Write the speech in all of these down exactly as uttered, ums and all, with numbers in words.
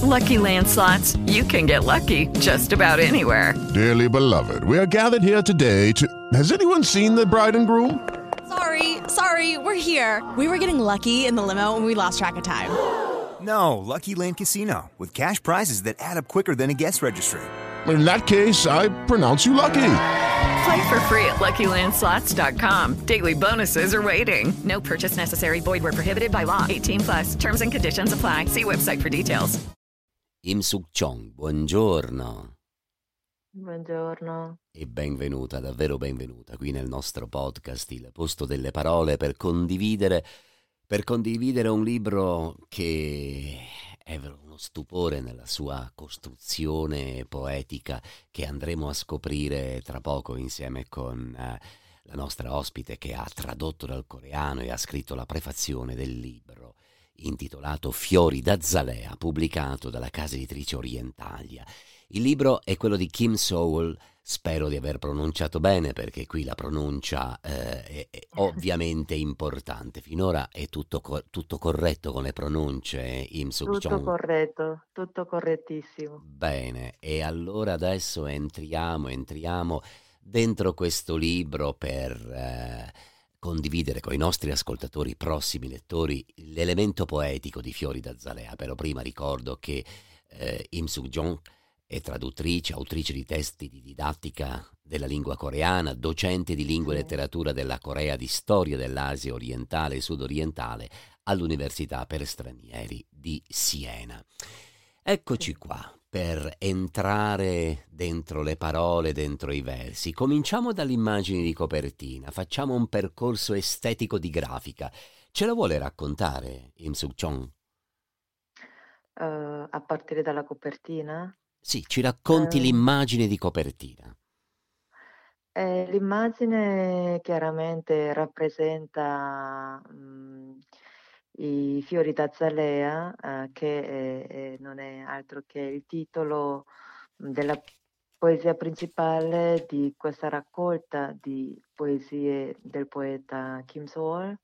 Lucky Land Slots, you can get lucky just about anywhere. Dearly beloved, we are gathered here today to... Has anyone seen the bride and groom? Sorry, sorry, we're here. We were getting lucky in the limo and we lost track of time. No, Lucky Land Casino, with cash prizes that add up quicker than a guest registry. In that case, I pronounce you lucky. Play for free at Lucky Land Slots dot com. Daily bonuses are waiting. No purchase necessary. Void where prohibited by law. eighteen plus. Terms and conditions apply. See website for details. Im Suk Chong, buongiorno. Buongiorno. E benvenuta, davvero benvenuta, qui nel nostro podcast Il Posto delle Parole per condividere, per condividere un libro che è uno stupore nella sua costruzione poetica che andremo a scoprire tra poco insieme con eh, la nostra ospite che ha tradotto dal coreano e ha scritto la prefazione del libro intitolato Fiori d'Azalea, pubblicato dalla casa editrice Orientalia. Il libro è quello di Kim Sowell, spero di aver pronunciato bene perché qui la pronuncia eh, è, è ovviamente importante. Finora è tutto, co- tutto corretto con le pronunce, Im Suk Tutto Chong? corretto, tutto correttissimo. Bene, e allora adesso entriamo, entriamo dentro questo libro per eh, condividere con i nostri ascoltatori, prossimi lettori, l'elemento poetico di Fiori d'Azalea. Però prima ricordo che eh, Im Suk Jong è traduttrice, autrice di testi di didattica della lingua coreana, docente di lingua e Sì. letteratura della Corea, di storia dell'Asia orientale e sudorientale all'Università per stranieri di Siena. Eccoci Sì. qua per entrare dentro le parole, dentro i versi. Cominciamo dalle immagini di copertina, facciamo un percorso estetico di grafica. Ce la vuole raccontare, Im Suk Chong? Eh, a partire dalla copertina. Sì, ci racconti Eh, l'immagine di copertina. eh, l'immagine chiaramente rappresenta mm, i fiori d'azalea, eh, che eh, eh, non è altro che il titolo mm, della poesia principale di questa raccolta di poesie del poeta Kim Sowell.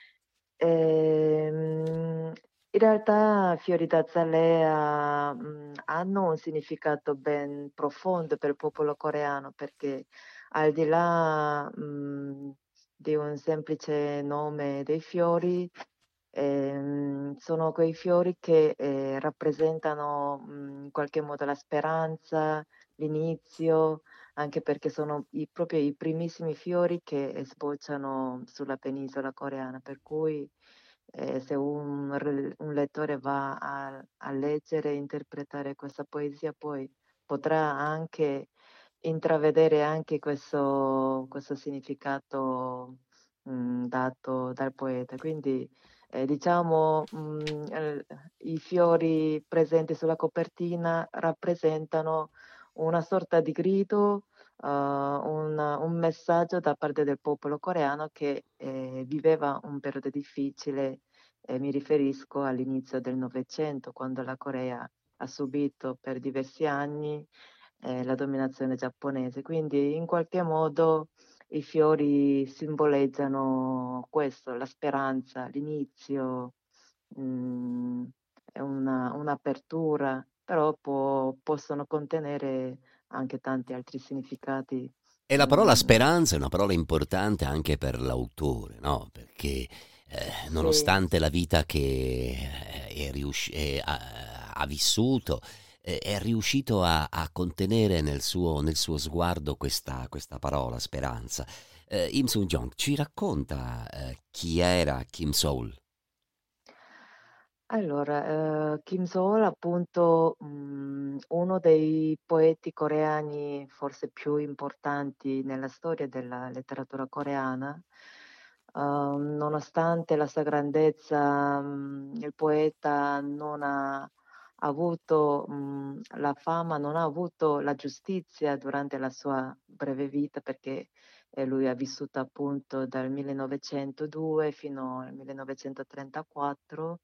Ehm, in realtà fiori d'azalea mh, hanno un significato ben profondo per il popolo coreano perché al di là mh, di un semplice nome dei fiori, ehm, sono quei fiori che eh, rappresentano mh, in qualche modo la speranza, l'inizio, anche perché sono i- proprio i primissimi fiori che eh, sbocciano sulla penisola coreana, per cui eh, se un, re- un lettore va a, a leggere e interpretare questa poesia, poi potrà anche intravedere anche questo, questo significato mh, dato dal poeta. Quindi eh, diciamo mh, eh, i fiori presenti sulla copertina rappresentano una sorta di grido, uh, un, un messaggio da parte del popolo coreano che eh, viveva un periodo difficile, eh, mi riferisco all'inizio del Novecento, quando la Corea ha subito per diversi anni eh, la dominazione giapponese. Quindi in qualche modo i fiori simboleggiano questo, la speranza, l'inizio, mh, è una, un'apertura, però può- possono contenere anche tanti altri significati. E la parola mh, speranza è una parola importante anche per l'autore, no? Perché eh, sì, nonostante la vita che eh, è riusci- è- ha, ha vissuto, eh, è riuscito a, a contenere nel suo, nel suo sguardo questa, questa parola, speranza. Eh, Im Sung-jong ci racconta eh, chi era Kim Seol? allora, eh, Kim Seol appunto mh, uno dei poeti coreani forse più importanti nella storia della letteratura coreana. Uh, nonostante la sua grandezza, mh, il poeta non ha avuto mh, la fama, non ha avuto la giustizia durante la sua breve vita perché eh, lui ha vissuto appunto dal millenovecentodue fino al millenovecentotrentaquattro.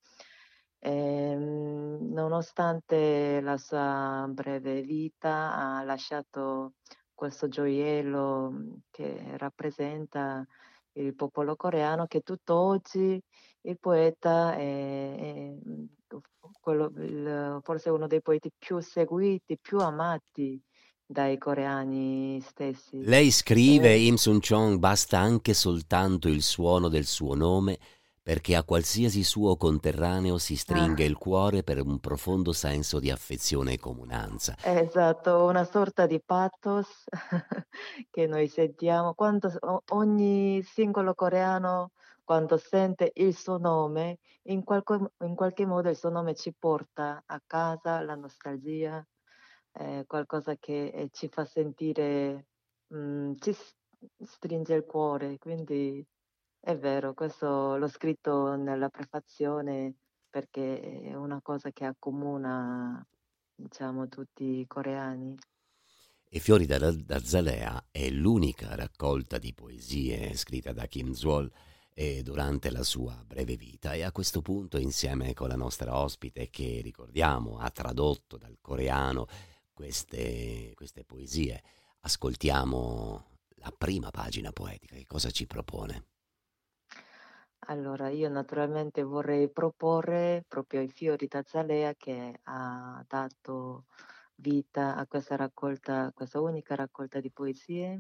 Ehm, nonostante la sua breve vita, ha lasciato questo gioiello mh, che rappresenta il popolo coreano che tutt'oggi il poeta è, è, mm, quello- il- forse uno dei poeti più seguiti, più amati dai coreani stessi. Lei scrive, E Im Sun-chong, basta anche soltanto il suono del suo nome perché a qualsiasi suo conterraneo si stringa ah, il cuore per un profondo senso di affezione e comunanza. esatto, una sorta di pathos che noi sentiamo quando o- ogni singolo coreano, quando sente il suo nome, in qualche, in qualche modo il suo nome ci porta a casa, la nostalgia, eh, qualcosa che eh, ci fa sentire, mm, ci s- stringe il cuore. Quindi è vero, questo l'ho scritto nella prefazione perché è una cosa che accomuna, diciamo, tutti i coreani. E Fiori da, da Zalea è l'unica raccolta di poesie scritta da Kim Zwol eh, durante la sua breve vita, e a questo punto, insieme con la nostra ospite che ricordiamo ha tradotto dal coreano queste, queste poesie, ascoltiamo la prima pagina poetica. Che cosa ci propone? Allora, io naturalmente vorrei proporre proprio i fiori d'azalea che ha dato vita a questa raccolta, questa unica raccolta di poesie.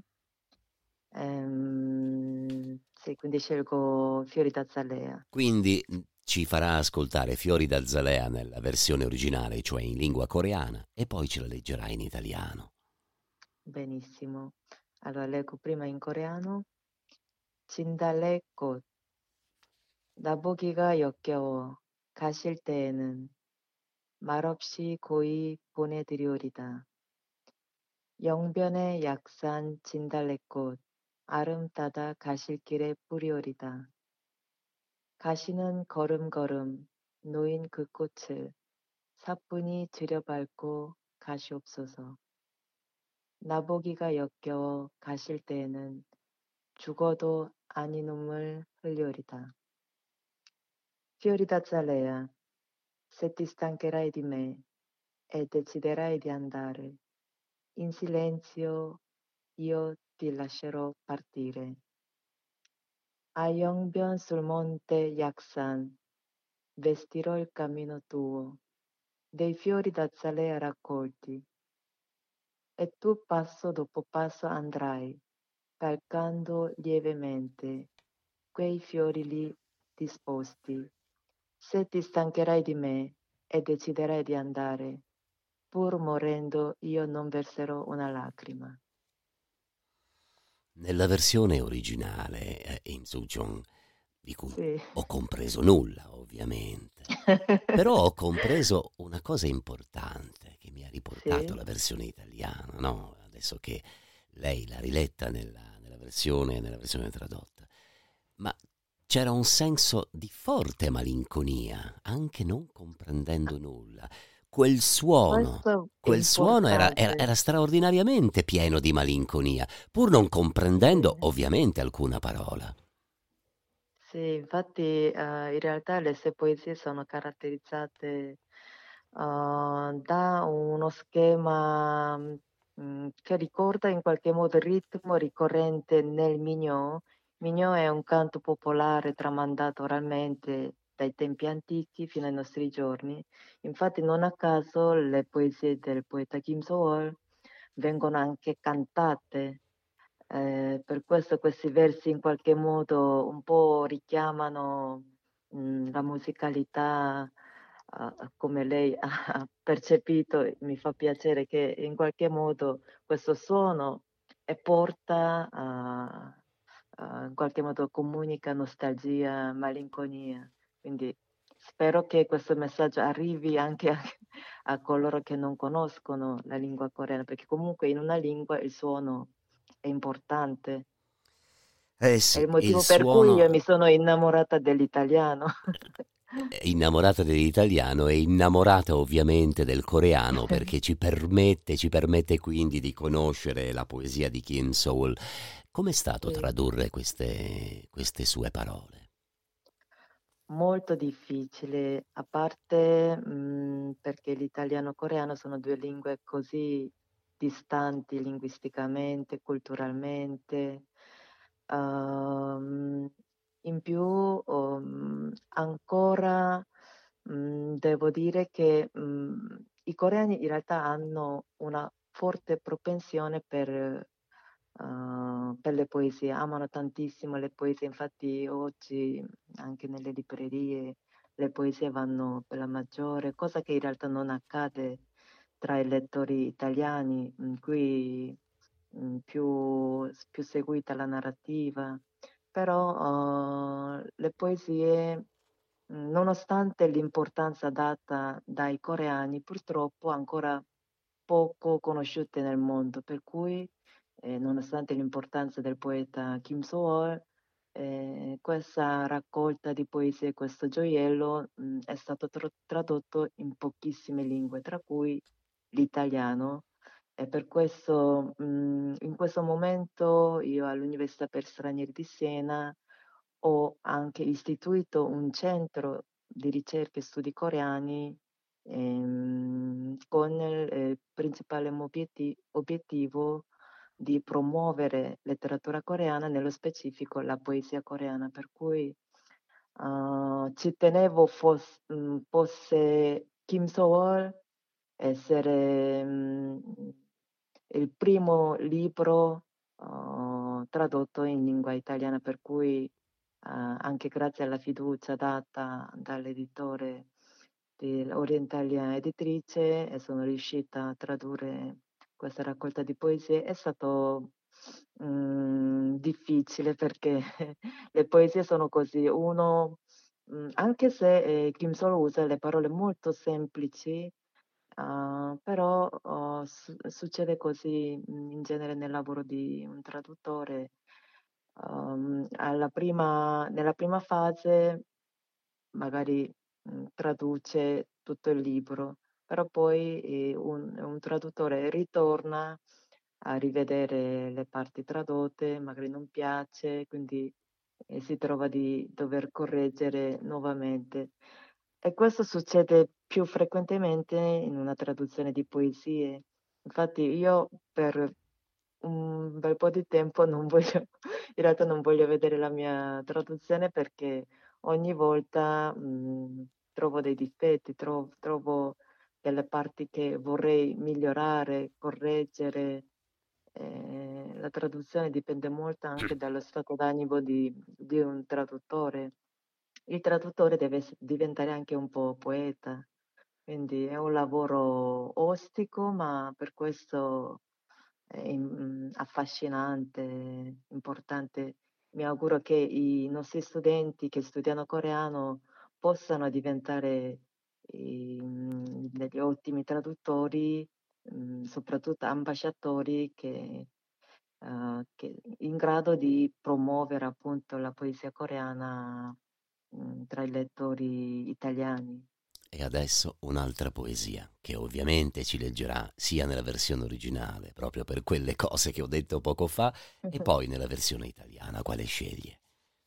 Ehm, sì, quindi scelgo fiori d'azalea. Quindi mh, ci farà ascoltare Fiori da Zalea nella versione originale, cioè in lingua coreana, e poi ce la leggerà in italiano. Benissimo. Allora, leggo prima in coreano. 진달래꽃, 나보기가 역겨워 가실 때에는 말없이 고이 보내드리오리다. 영변의 약산 진달래꽃 아름 따다 가실 길에 뿌리오리다. 가시는 걸음걸음 놓인 그 꽃을 사뿐히 들여밟고 가시옵소서. 나보기가 역겨워 가실 때에는 죽어도 아니 눈물 흘리오리다. Fiori d'azalea, se ti stancherai di me e deciderai di andare, in silenzio io ti lascerò partire. A Yongbyon sul monte Yaksan vestirò il cammino tuo, dei fiori d'azalea raccolti, e tu passo dopo passo andrai, calcando lievemente quei fiori lì disposti. Se ti stancherai di me e deciderai di andare, pur morendo io non verserò una lacrima. Nella versione originale, eh, in Soo-jong, di cui Sì. ho compreso nulla, ovviamente, però ho compreso una cosa importante che mi ha riportato Sì. la versione italiana, no? Adesso che lei l'ha riletta nella, nella versione, nella versione tradotta. Ma c'era un senso di forte malinconia, anche non comprendendo nulla. Quel suono, Questo è quel suono era, era, importante. era straordinariamente pieno di malinconia, pur non comprendendo Sì. ovviamente alcuna parola. Sì, infatti eh, in realtà le sue poesie sono caratterizzate eh, da uno schema mm, che ricorda in qualche modo il ritmo ricorrente nel Minyo. Minyo è un canto popolare tramandato oralmente dai tempi antichi fino ai nostri giorni. Infatti non a caso le poesie del poeta Kim So-wol vengono anche cantate. Eh, per questo questi versi in qualche modo un po' richiamano mh, la musicalità eh, come lei ha percepito. Mi fa piacere che in qualche modo questo suono e porta a, a- in qualche modo comunica nostalgia, malinconia. Quindi spero che questo messaggio arrivi anche a, a coloro che non conoscono la lingua coreana, perché comunque in una lingua il suono è importante. Eh È sì, il il motivo per cui io suono, mi sono innamorata dell'italiano. è innamorata dell'italiano e innamorata ovviamente del coreano, perché ci permette, ci permette quindi di conoscere la poesia di Kim Seol. Com'è stato Sì, tradurre queste, queste sue parole? molto difficile, a parte mh, perché l'italiano e il coreano sono due lingue così distanti linguisticamente, culturalmente. Ehm, In più, um, ancora mm, devo dire che mm, i coreani in realtà hanno una forte propensione per, uh, per le poesie, amano tantissimo le poesie, infatti oggi anche nelle librerie le poesie vanno per la maggiore, cosa che in realtà non accade tra i lettori italiani, in cui mm, più, più seguita la narrativa, però eh, le poesie, mh, nonostante l'importanza data dai coreani, purtroppo ancora poco conosciute nel mondo, per cui eh, nonostante l'importanza del poeta Kim So-eul, eh, questa raccolta di poesie, questo gioiello, mh, è stato tro- tradotto in pochissime lingue, tra cui l'italiano. E per questo, mh, in questo momento io all'Università per Stranieri di Siena ho anche istituito un centro di ricerca e studi coreani ehm, con il eh, principale obieti- obiettivo di promuovere letteratura coreana, nello specifico la poesia coreana, per cui eh, ci tenevo fos- mh, fosse Kim So-wol essere mh, il primo libro uh, tradotto in lingua italiana, per cui uh, anche grazie alla fiducia data dall'editore di Orientalia Editrice e sono riuscita a tradurre questa raccolta di poesie. È stato mh, difficile perché le poesie sono così, uno, mh, anche se eh, Kim Sol usa le parole molto semplici, uh, però uh, su- succede così mh, in genere nel lavoro di un traduttore. Um, alla prima, nella prima fase magari mh, traduce tutto il libro, però poi eh, un, un traduttore ritorna a rivedere le parti tradotte, magari non piace, quindi eh, si trova di dover correggere nuovamente. E questo succede più frequentemente in una traduzione di poesie. Infatti io per un bel po' di tempo non voglio, in realtà non voglio vedere la mia traduzione perché ogni volta mh, trovo dei difetti, trovo, trovo delle parti che vorrei migliorare, correggere. Eh, la traduzione dipende molto anche dallo stato d'animo di, di un traduttore. Il traduttore deve ess- diventare anche un po' poeta, quindi è un lavoro ostico, ma per questo è im- affascinante, importante. Mi auguro che i nostri studenti che studiano coreano possano diventare ehm, degli ottimi traduttori, mh, soprattutto ambasciatori che, eh, che in grado di promuovere appunto la poesia coreana mh, tra i lettori italiani. E adesso un'altra poesia, che ovviamente ci leggerà sia nella versione originale, proprio per quelle cose che ho detto poco fa, e poi nella versione italiana. Quale sceglie?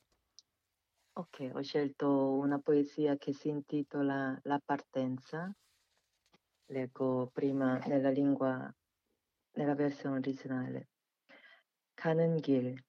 Ok, ho scelto una poesia che si intitola La partenza. Leggo prima nella lingua, nella versione originale. 가는 길,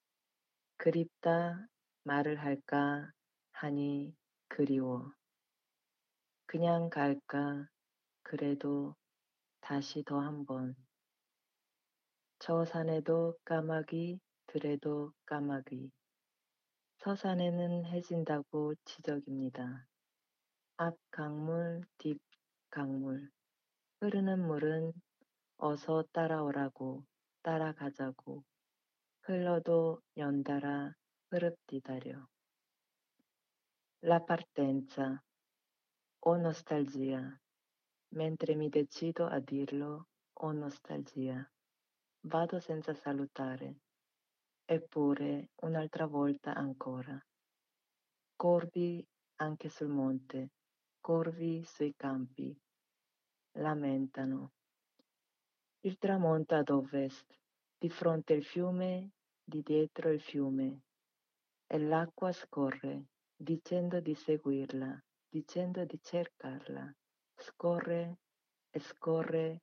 그립다 말을 할까 하니 그리워. 그냥 갈까 그래도 다시 더 한 번. 저 산에도 까마귀, 들에도 까마귀. 서산에는 해진다고 지적입니다. 앞 강물, 뒷 강물. 흐르는 물은 어서 따라오라고 따라가자고 흘러도 연달아 흐릅디다려. La partenza, o nostalgia, mentre mi decido a dirlo, o nostalgia. Vado senza salutare, eppure un'altra volta ancora. Corvi anche sul monte, corvi sui campi, lamentano. Il tramonto ad ovest, di fronte il fiume, di dietro il fiume, e l'acqua scorre, dicendo di seguirla, dicendo di cercarla, scorre e scorre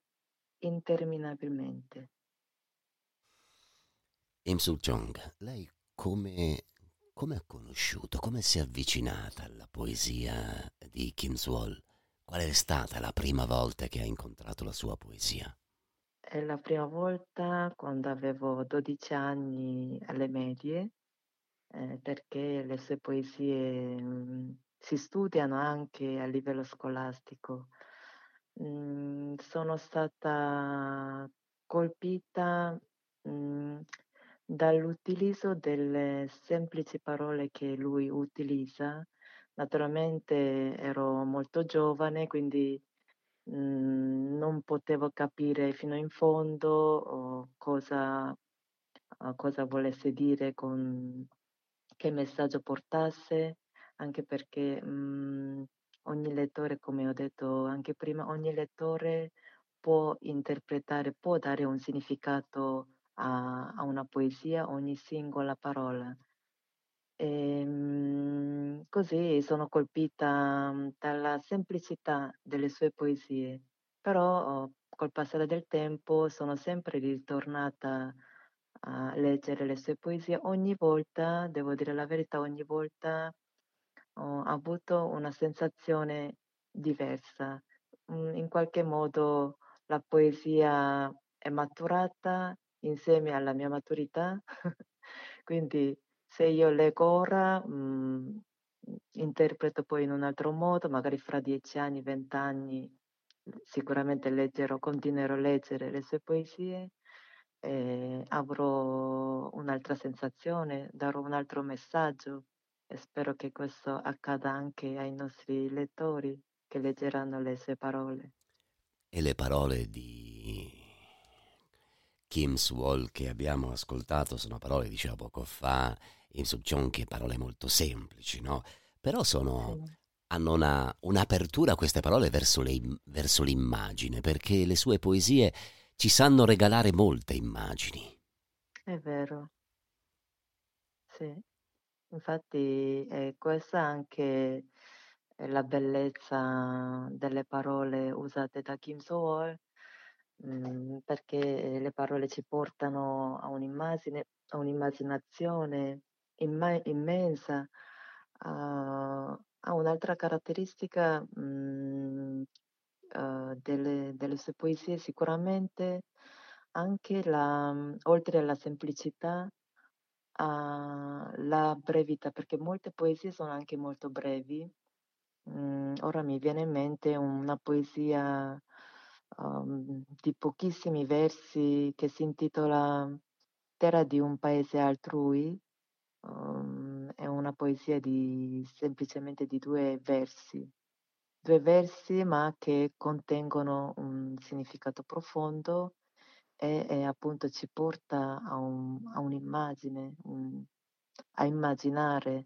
interminabilmente. Im Suk Jong, lei come, come ha conosciuto, come si è avvicinata alla poesia di Kim Swol? Qual è stata la prima volta che ha incontrato la sua poesia? È la prima volta quando avevo dodici anni alle medie, eh, perché le sue poesie mm, si studiano anche a livello scolastico. Mm, sono stata colpita mm, dall'utilizzo delle semplici parole che lui utilizza. Naturalmente ero molto giovane, quindi mm, non potevo capire fino in fondo oh, cosa, uh, cosa volesse dire con che messaggio portasse, anche perché mm, ogni lettore, come ho detto anche prima, ogni lettore può interpretare, può dare un significato a, a una poesia, ogni singola parola. Ehm, così sono colpita mm, dalla semplicità delle sue poesie, però oh, col passare del tempo sono sempre ritornata a leggere le sue poesie. Ogni volta, devo dire la verità, ogni volta ho avuto una sensazione diversa. Mm, In qualche modo la poesia è maturata insieme alla mia maturità, quindi se io leggo ora, mhmm, interpreto poi in un altro modo, magari fra dieci anni, venti anni, sicuramente leggerò continuerò a leggere le sue poesie, e avrò un'altra sensazione, darò un altro messaggio e spero che questo accada anche ai nostri lettori che leggeranno le sue parole. E le parole di Kim Swol che abbiamo ascoltato sono parole, dicevo poco fa, in che parole molto semplici, no? Però sono, Sì, hanno una, un'apertura queste parole verso, le, im- verso l'immagine, perché le sue poesie ci sanno regalare molte immagini. è vero, sì. Infatti è questa anche è la bellezza delle parole usate da Kim So-eul, mhmm, perché le parole ci portano a un'immagine a un'immaginazione imma immensa, a a un'altra caratteristica, mhmm, uhm, delle delle sue poesie sicuramente anche la mhmm, oltre alla semplicità ha la brevità, perché molte poesie sono anche molto brevi. Mhmm, ora mi viene in mente una poesia, uhm, di pochissimi versi che si intitola "Terra di un paese altrui", uhm, è una poesia di semplicemente di due versi. due versi, ma che contengono un significato profondo e e appunto ci porta a un a un'immagine, un a immaginare.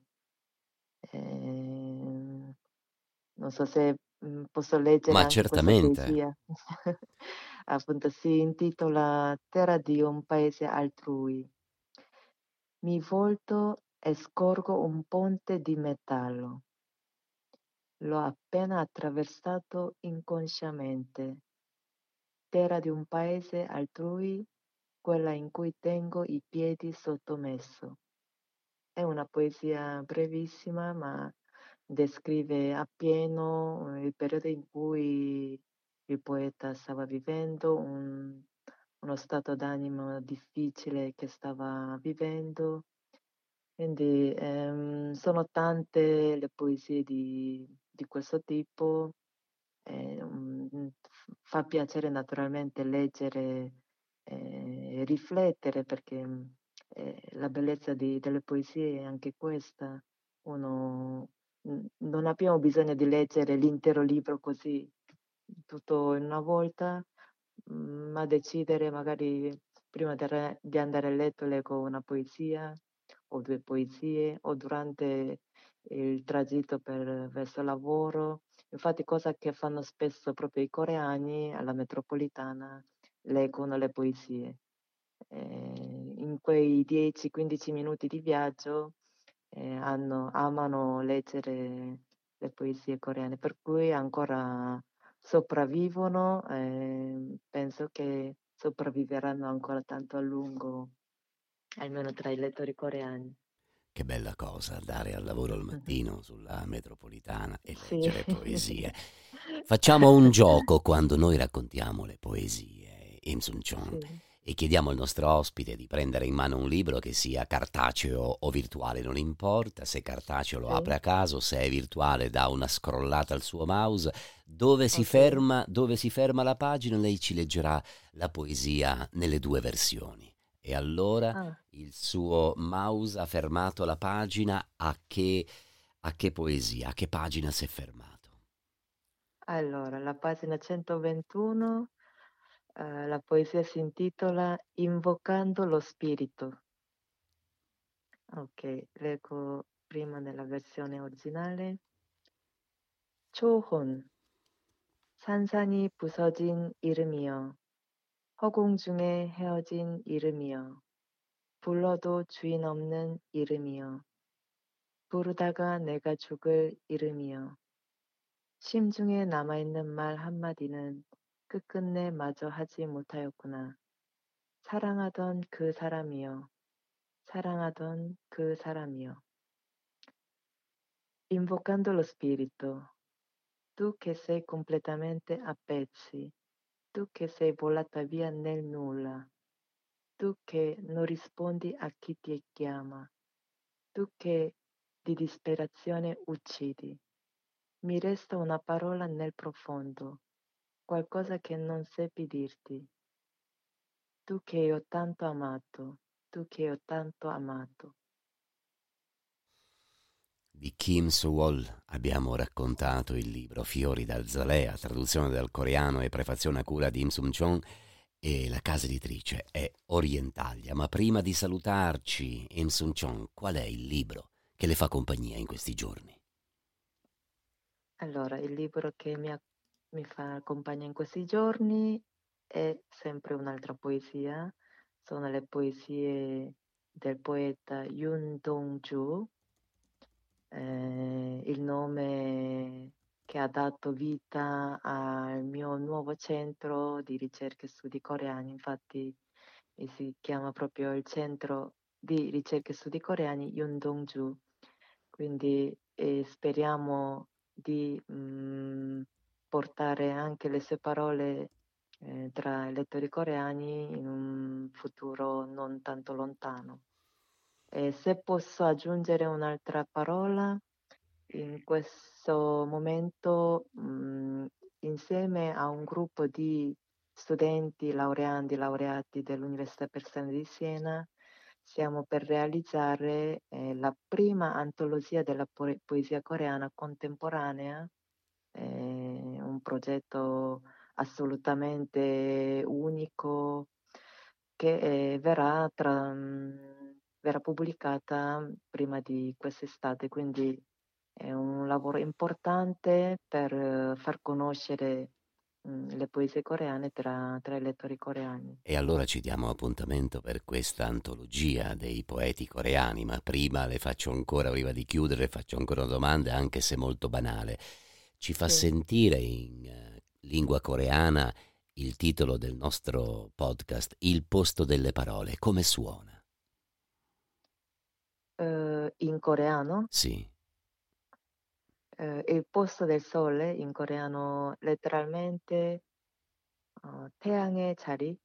Ehm, non so se, mhmm, posso leggere Ma anche questa certamente. poesia. Appunto si intitola "Terra di un paese altrui". Mi volto e scorgo un ponte di metallo. L'ho appena attraversato inconsciamente. Terra di un paese altrui, quella in cui tengo i piedi sottomesso. È una poesia brevissima, ma descrive appieno eh, il periodo in cui il poeta stava vivendo, un uno stato d'animo difficile che stava vivendo. Quindi, ehm, sono tante le poesie di di questo tipo. Ehm, mhmm, f fa piacere naturalmente leggere e riflettere perché, mhmm, ehm, la bellezza di delle poesie è anche questa. Uno n non abbiamo bisogno di leggere l'intero libro così, tutto in una volta, mhmm, ma decidere magari prima di arre di andare a letto leggo una poesia o due poesie o durante il tragitto per verso lavoro. Infatti cosa che fanno spesso proprio i coreani alla metropolitana, leggono le poesie. Ehm, in quei dieci, quindici minuti di viaggio, ehm, hanno amano leggere le poesie coreane, per cui ancora sopravvivono, ehm, penso che sopravviveranno ancora tanto a lungo, almeno tra i lettori coreani. Che bella cosa andare al lavoro al mattino sulla metropolitana e Sì. leggere poesie. Facciamo un gioco quando noi raccontiamo le poesie, Im Sun Chong, Sì. e chiediamo al nostro ospite di prendere in mano un libro che sia cartaceo o virtuale, non importa. Se cartaceo lo Sì. apre a caso, se è virtuale dà una scrollata al suo mouse. Dove si Ok. ferma, dove si ferma la pagina, lei ci leggerà la poesia nelle due versioni. E allora Ah, il suo mouse ha fermato la pagina, a che, a che poesia, a che pagina si è fermato? allora, la pagina centoventuno, eh, la poesia si intitola Invocando lo spirito. Ok, leggo prima nella versione originale. 초혼, 산산이 부서진 이름이여, 허공 중에 헤어진 이름이여, 불러도 주인 없는 이름이여, 부르다가 내가 죽을 이름이여, 심중에 남아있는 말 한마디는 끝끝내 마저 하지 못하였구나. 사랑하던 그 사람이여, 사랑하던 그 saramio. Invocando lo spirito, tu che sei completamente a pezzi, tu che sei volata via nel nulla, tu che non rispondi a chi ti chiama, tu che di disperazione uccidi. Mi resta una parola nel profondo, qualcosa che non seppi dirti. Tu che ho tanto amato, tu che ho tanto amato. Di Kim So-wol abbiamo raccontato il libro Fiori d'Alzalea, traduzione dal coreano e prefazione a cura di Im Sun Chong, e la casa editrice è Orientalia. Ma prima di salutarci, Im Sun Chong, qual è il libro che le fa compagnia in questi giorni? Allora, il libro che mi, ha- mi fa compagnia in questi giorni è sempre un'altra poesia, sono le poesie del poeta Yoon Dong-ju, eh, il nome che ha dato vita al mio nuovo centro di ricerca e studi coreani, infatti eh, si chiama proprio il centro di ricerca e studi coreani Yoon Dong-ju, quindi eh, speriamo di mm, portare anche le sue parole eh, tra i lettori coreani in un futuro non tanto lontano. E se posso aggiungere un'altra parola, in questo momento, mm, insieme a un gruppo di studenti, laureandi, laureati dell'Università Per Strada di Siena, stiamo per realizzare eh, la prima antologia della po- poesia coreana contemporanea, eh, un progetto assolutamente unico che eh, verrà, tra- mh, verrà pubblicata prima di quest'estate, quindi è un lavoro importante per eh, far conoscere mh, le poesie coreane tra, tra i lettori coreani. E allora ci diamo appuntamento per questa antologia dei poeti coreani, ma prima le faccio ancora, prima di chiudere, faccio ancora una domanda, anche se molto banale. Ci fa Sì. sentire in eh, lingua coreana il titolo del nostro podcast, Il posto delle parole, come suona? Eh, in coreano, Sì. eh, il posto del sole, in coreano letteralmente 어, 태양의 자리.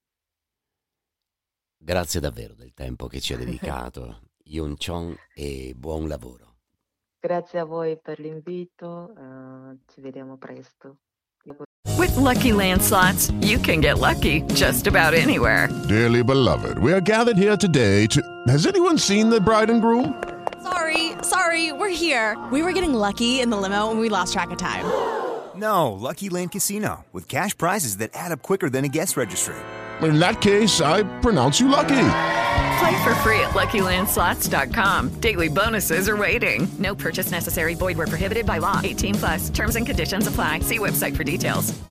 Grazie davvero del tempo che ci ha dedicato, Yoon Chong, e buon lavoro. Grazie a voi per l'invito, eh, ci vediamo presto. With Lucky Land Slots, you can get lucky just about anywhere. Dearly beloved, we are gathered here today to... Has anyone seen the bride and groom? Sorry, sorry, we're here. We were getting lucky in the limo and we lost track of time. No, Lucky Land Casino, with cash prizes that add up quicker than a guest registry. In that case, I pronounce you lucky. Play for free at Lucky Land Slots dot com. Daily bonuses are waiting. No purchase necessary. Void where prohibited by law. eighteen plus. Terms and conditions apply. See website for details.